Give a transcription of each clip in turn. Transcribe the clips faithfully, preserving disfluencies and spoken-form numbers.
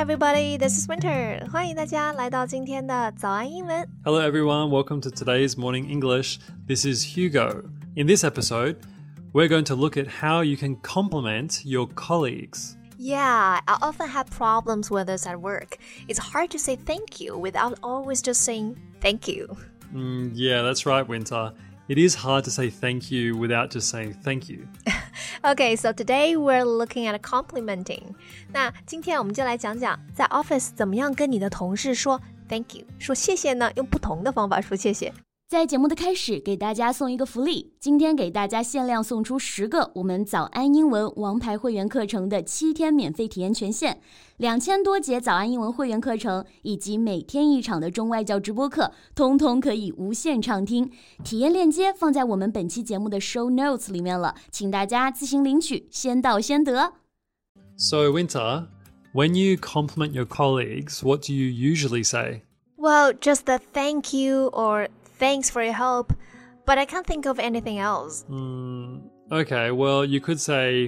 everybody, this is Winter. 欢迎大家来到今天的早安英文。 Hello everyone, welcome to today's Morning English. This is Hugo. In this episode, we're going to look at how you can compliment your colleagues. Yeah, I often have problems with this at work. It's hard to say thank you without always just saying thank you. Mm, yeah, that's right, Winter. It is hard to say thank you without just saying thank you. Okay, so today we're looking at complimenting. 那今天我们就来讲讲在 office 怎么样跟你的同事说 thank you， 说谢谢呢，用不同的方法说谢谢。 在节目的开始，给大家送一个福利，今天给大家限量送出十个我们早安英文王牌会员课程的七天免费体验权限，两千多节早安英文会员课程以及每天一场的中外教直播课，通通可以无限畅听。体验链接放在我们本期节目的 show notes 里面了，请大家自行领取，先到先得。 So, Winter, when you compliment your colleagues, what do you usually say? Well, just the thank you or thanks for your help, but I can't think of anything else. Mm, okay, well, you could say,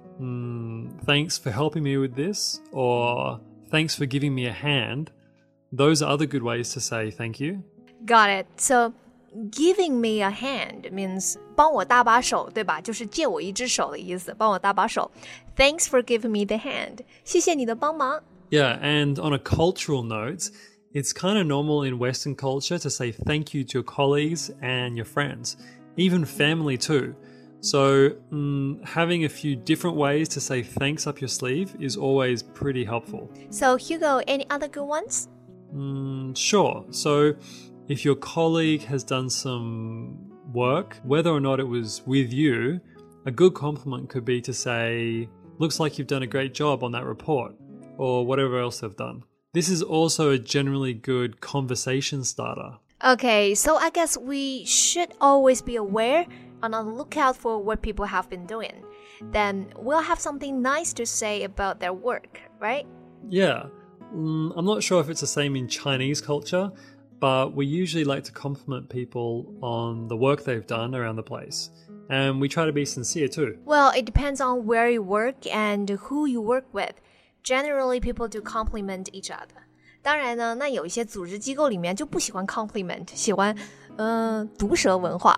mm, thanks for helping me with this, or thanks for giving me a hand. Those are other good ways to say thank you. Got it. So, giving me a hand means 帮我搭把手，对吧？就是借我一只手的意思，帮我搭把手。Thanks for giving me the hand. 谢谢你的帮忙。 Yeah, and on a cultural note, it's kind of normal in Western culture to say thank you to your colleagues and your friends, even family too. So um, having a few different ways to say thanks up your sleeve is always pretty helpful. So, Hugo, any other good ones? Mm, sure. So if your colleague has done some work, whether or not it was with you, a good compliment could be to say, looks like you've done a great job on that report, or whatever else they've done. This is also a generally good conversation starter. Okay, so I guess we should always be aware and on the lookout for what people have been doing. Then we'll have something nice to say about their work, right? Yeah. Mm, I'm not sure if it's the same in Chinese culture, but we usually like to compliment people on the work they've done around the place. And we try to be sincere too. Well, it depends on where you work and who you work with. Generally, people do compliment each other. 当然呢，那有一些组织机构里面就不喜欢 compliment， 喜欢嗯、呃、毒舌文化。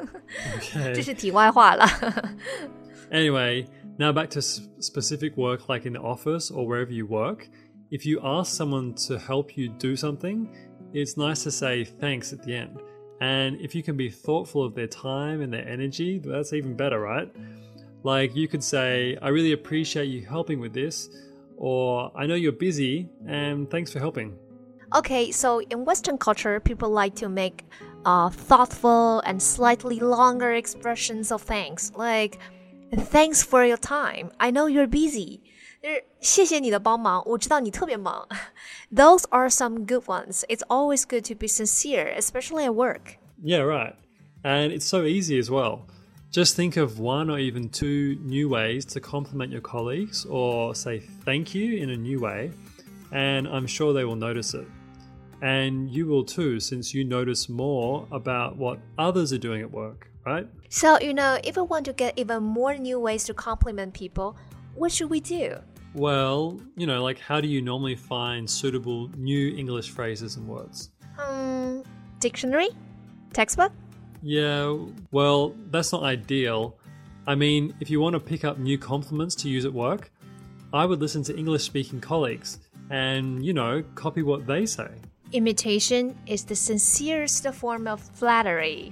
Okay. 这是题外话了。 Anyway, now back to specific work like in the office or wherever you work. If you ask someone to help you do something, it's nice to say thanks at the end. And if you can be thoughtful of their time and their energy, that's even better, right? Like you could say, I really appreciate you helping with this. Or, I know you're busy, and thanks for helping. Okay, so in Western culture, people like to make uh, thoughtful and slightly longer expressions of thanks. Like, thanks for your time. I know you're busy. 谢谢你的帮忙，我知道你特别忙。Those are some good ones. It's always good to be sincere, especially at work. Yeah, right. And it's so easy as well. Just think of one or even two new ways to compliment your colleagues or say thank you in a new way, and I'm sure they will notice it. And you will too, since you notice more about what others are doing at work, right? So, you know, if we want to get even more new ways to compliment people, what should we do? Well, you know, like how do you normally find suitable new English phrases and words? Um, dictionary? Textbook? Yeah, well, that's not ideal. I mean, if you want to pick up new compliments to use at work, I would listen to English-speaking colleagues and, you know, copy what they say. Imitation is the sincerest form of flattery.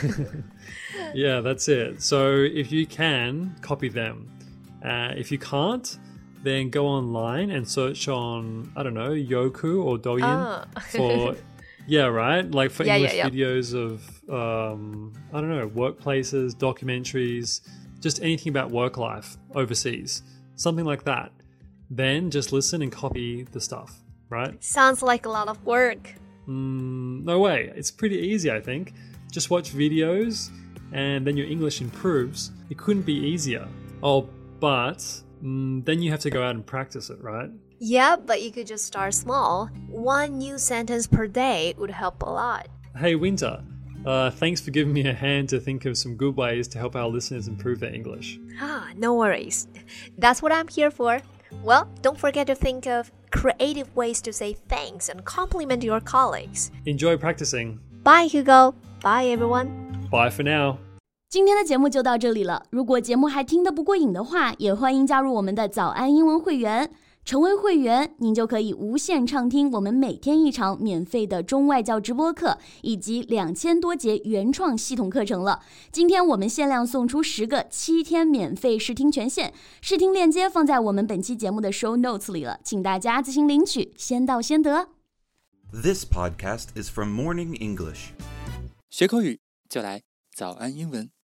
Yeah, that's it. So if you can, copy them. Uh, if you can't, then go online and search on, I don't know, Youku or Douyin oh. for... Yeah, right? Like for yeah, English yeah, yeah. videos of, um, I don't know, workplaces, documentaries, just anything about work life overseas. Something like that. Then just listen and copy the stuff, right? Sounds like a lot of work. Mm, no way. It's pretty easy, I think. Just watch videos and then your English improves. It couldn't be easier. Oh, but mm, then you have to go out and practice it, right? Yeah, but you could just start small. One new sentence per day would help a lot. Hey, Winter, uh, thanks for giving me a hand to think of some good ways to help our listeners improve their English. Ah, no worries. That's what I'm here for. Well, don't forget to think of creative ways to say thanks and compliment your colleagues. Enjoy practicing. Bye, Hugo. Bye, everyone. Bye for now. 今天的节目就到这里了。如果节目还听得不过瘾的话，也欢迎加入我们的早安英文会员。成为会员，您就可以无限畅听我们每天一场免费的中外教直播课，以及两千多节原创系统课程了。今天我们限量送出十个七天免费试听权限，试听链接放在我们本期节目的 show notes 里了，请大家自行领取，先到先得。 This podcast is from Morning English. 学口语就来早安英文。